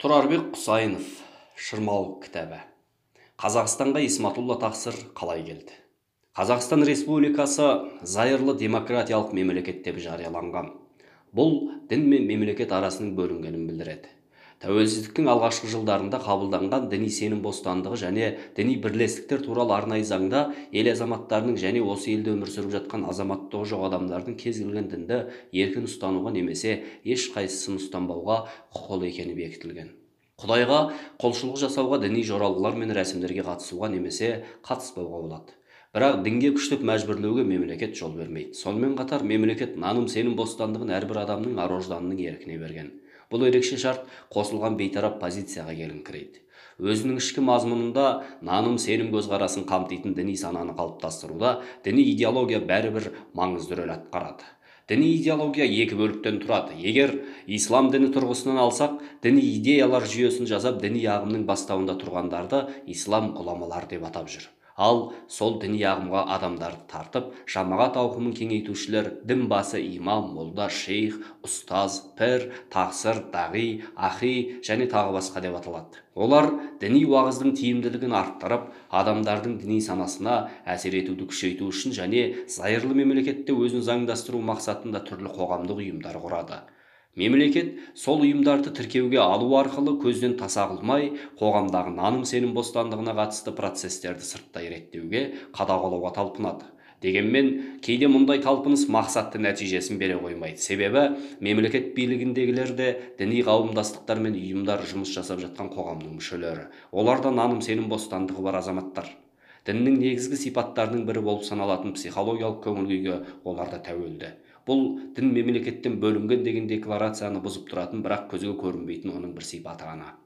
Тұрарбек Құсайынов, Шырмауық кітабы. Қазақстанға Исматулла Тақсыр қалай келді? Қазақстан Республикасы зайырлы демократиялық мемлекет деп жарияланған. Бұл дін мен мемлекет арасының бөлінгенін білдіреді. Тәуелсіздіктің алғашқы жылдарында қабылданған діни сенім бостандығы және діни бірлестіктер туралы арнайы заңда ел азаматтарының және осы елде өмір сүріп жатқан азаматтығы жоқ адамдардың кез келген дінді еркін ұстануға немесе ешқайсысын ұстанбауға құқылы екені бекітілген. Құдайға құлшылық жасауға, діни жоралғылар мен рәсімдерге қатысуға немесе қатыспауға болады. Бірақ дінге күштеп мәжбүрлеуге мемлекет жол бермейді. Сонымен қатар мемлекет наным сенім бостандығын әрбір адамның ар-ожданының еркіне берген. Бұл ерекше шарт қосылған бейтарап позицияға келіңкірейді. Өзінің ішкі мазмұнында наным сенім көзқарасын қамтитын діни сананы қалыптастыруда діни идеология бәрібір маңызды рөл атқарады. Діни идеология екі бөліктен тұрады. Егер ислам діні тұрғысынан алсақ, діни идеялар жүйесін жасап, діни ағымның бастауында тұрғандарды ислам ғұламалар деп атап жүр. Ал сол діни ағымға адамдарды тартып, жамағат ауқымын кеңейтушілер дін басы имам, молда, шейх, ұстаз, пір, тақсыр, дағи, ахи және тағы басқа деп аталады. Олар діни уағыздың тиімділігін арттырып, адамдардың діни санасына әсер етуді күшейту үшін және зайырлы мемлекетте өзін заңдастыру мақсатында түрлі қоғамдық ұйымдар құрады. Мемлекет сол ұйымдарды тіркеуге алу арқылы көзден таса қылмай, қоғамдағы наным сенім бостандығына қатысты процестерді сырттай реттеуге, қадағалауға талпынады. Дегенмен, кейде мұндай талпыныс мақсатты нәтижесін бере қоймайды. Себебі, мемлекет билігіндегілер де діни қауымдастықтар мен ұйымдар жұмыс жасап жатқан қоғамның мүшелері. Олар да наным сенім бостандығы бар азаматтар. Діннің негізгі сипаттарының бірі болып саналатын психологиялық көңіл-күйге олар да тәуелді. Бұл дін мемлекеттен бөлінген деген декларацияны бұзып тұратын, бірақ көзге көрінбейтін оның бір сипаты ғана.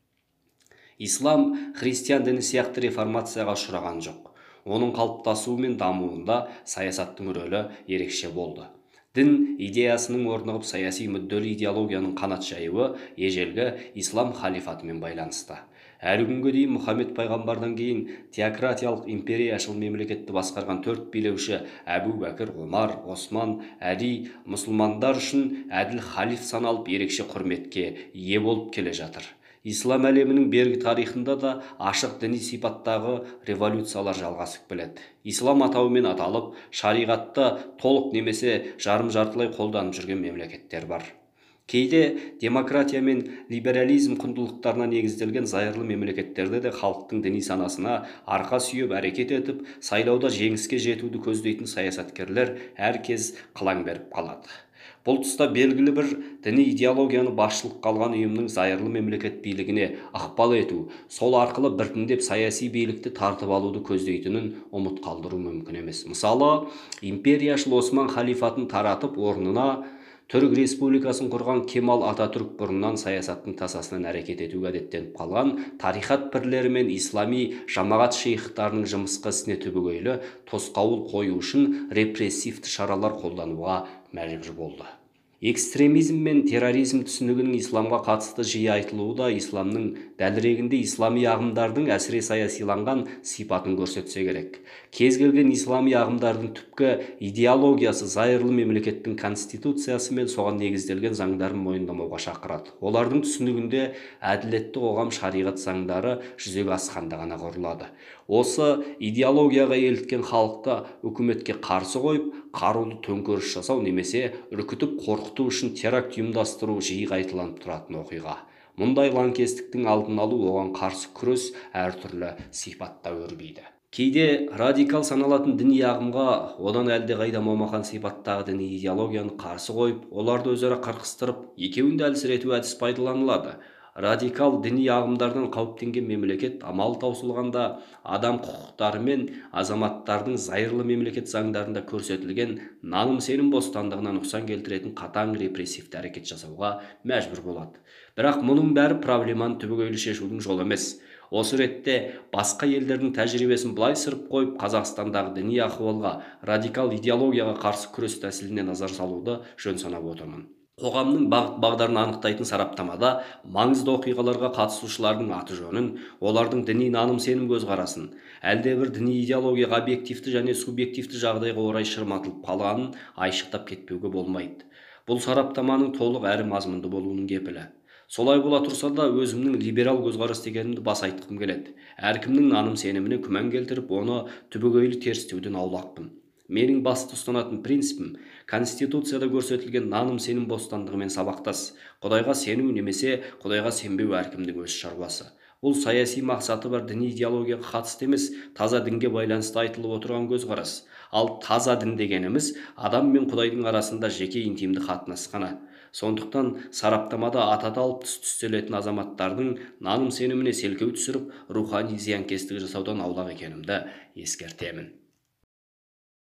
Ислам христиан діні сияқты реформацияға ұшыраған жоқ. Оның қалыптасуы мен дамуында саясаттың рөлі ерекше болды. Дін идеясының орнығып саяси мүдделі идеологияның қанат жаюы ежелгі ислам халифатымен байланысты. Әлі күнге дейін Мұхаммед пайғамбардан кейін теократиялық империяшыл мемлекетті басқарған 4 билеуші Әбу Бәкір, Омар, Осман, Әли мұсылмандар үшін әділ халиф саналып ерекше құрметке ие болып келе жатыр. Ислам әлемінің бергі тарихында да ашық діни сипаттағы революциялар жалғасып келеді. Ислам атауымен аталып, шариғатты толық немесе жарым-жартылай қолданып жүрген мемлекеттер бар. Кейде демократия мен либерализм құндылықтарына негізделген зайырлы мемлекеттерде де халықтың діни санасына арқа сүйеп әрекет етіп, сайлауда жеңіске жетуді көздейтін саясаткерлер әркез қылаң беріп қалады. Бұл тұста белгілі бір діни идеологияны басшылыққа алған ұйымның зайырлы мемлекет билігіне ықпал ету, сол арқылы біртіндеп саяси билікті тартып алуды көздейтінін ұмыт қалдыру мүмкін емес. Мысалы, империяшыл Осман халифатын таратып, орнына Түрік республикасын құрған Кемал Ататүрк бұрыннан саясаттың тасасынан әрекет етуге әдеттеніп қалған тарихат пірлері мен ислами жамағат шейхтарының жымысқы ісіне түбегейлі тосқауыл қою үшін репрессивті шаралар қолдануға мәжбүр болды. Экстремизм мен терроризм түсінігінің исламға қатысты жиі айтылуы да исламның дәлірегінде ислами ағымдардың әсіре саясиланған сипатын көрсетсе керек. Кез келген ислами ағымдардың түпкі идеологиясы зайырлы мемлекеттің конституциясы мен соған негізделген заңдарын мойындамауға шақырады. Олардың түсінігінде әділетті қоғам шариғат заңдары жүзеге асқанда ғана құрылады. Осы идеологияға еліткен халықты үкіметке қарсы қойып, қарулы төңкеріс жасау немесе үркітіп қорқыту үшін теракт ұйымдастыру жиі қайталанып тұратын оқиға. Мұндай лаңкестіктің алдын алу, оған қарсы күрес әртүрлі сипатта өрбиді. Кейде радикал саналатын діни ағымға одан әлдеқайда момақан сипаттағы діни идеологияны қарсы қойып, оларды өзара қырқыстырып, екеуін де әлсірету әдіс пайдаланылады. Радикал діни ағымдардан қауіптенген мемлекет амал таусылғанда адам құқықтары мен азаматтардың зайырлы мемлекет заңдарында көрсетілген наным сенім бостандығына нұқсан келтіретін қатаң репрессивті әрекет жасауға мәжбүр болады. Бірақ мұның бәрі проблеманы түбегейлі шешудің жолы емес. Осы ретте басқа елдердің тәжірибесін былай сырып қойып, Қазақстандағы діни ахуалға, радикал идеологияға қарсы күрес тәсіліне назар салуды жөн санап отырмын. Қоғамның бағыт-бағдарын анықтайтын сараптамада маңызды оқиғаларға қатысушылардың аты жөнін, олардың діни наным сенім көзқарасын, әлдебір діни идеологияға объективті және субъективті жағдайға орай шырматылып қалғанын айшықтап кетпеуге болмайды. Бұл сараптаманың толық әрі мазмұнды болуының кепілі. Солай бола тұрса да өзімнің либерал көзқарас дегенімді баса айтқым келеді. Әркімнің наным сеніміне күмән келтіріп, оны түбегейлі терістеуден аулақпын. Менің басты ұстанатын принципім Конституцияда көрсетілген наным сенім бостандығымен сабақтас. Құдайға сену немесе Құдайға сенбеу әркімнің өз шаруасы. Бұл саяси мақсаты бар діни идеологияға қатысты емес, таза дінге байланысты айтылып отырған көзқарас. Ал таза дін дегеніміз адам мен Құдайдың арасында жеке интимді қатынас қана. Сондықтан сараптамада атады алып түстелетін азаматтардың наным сеніміне селкеу түсіріп, рухани зиянкестік жасаудан аулақ екенімді ескертемін.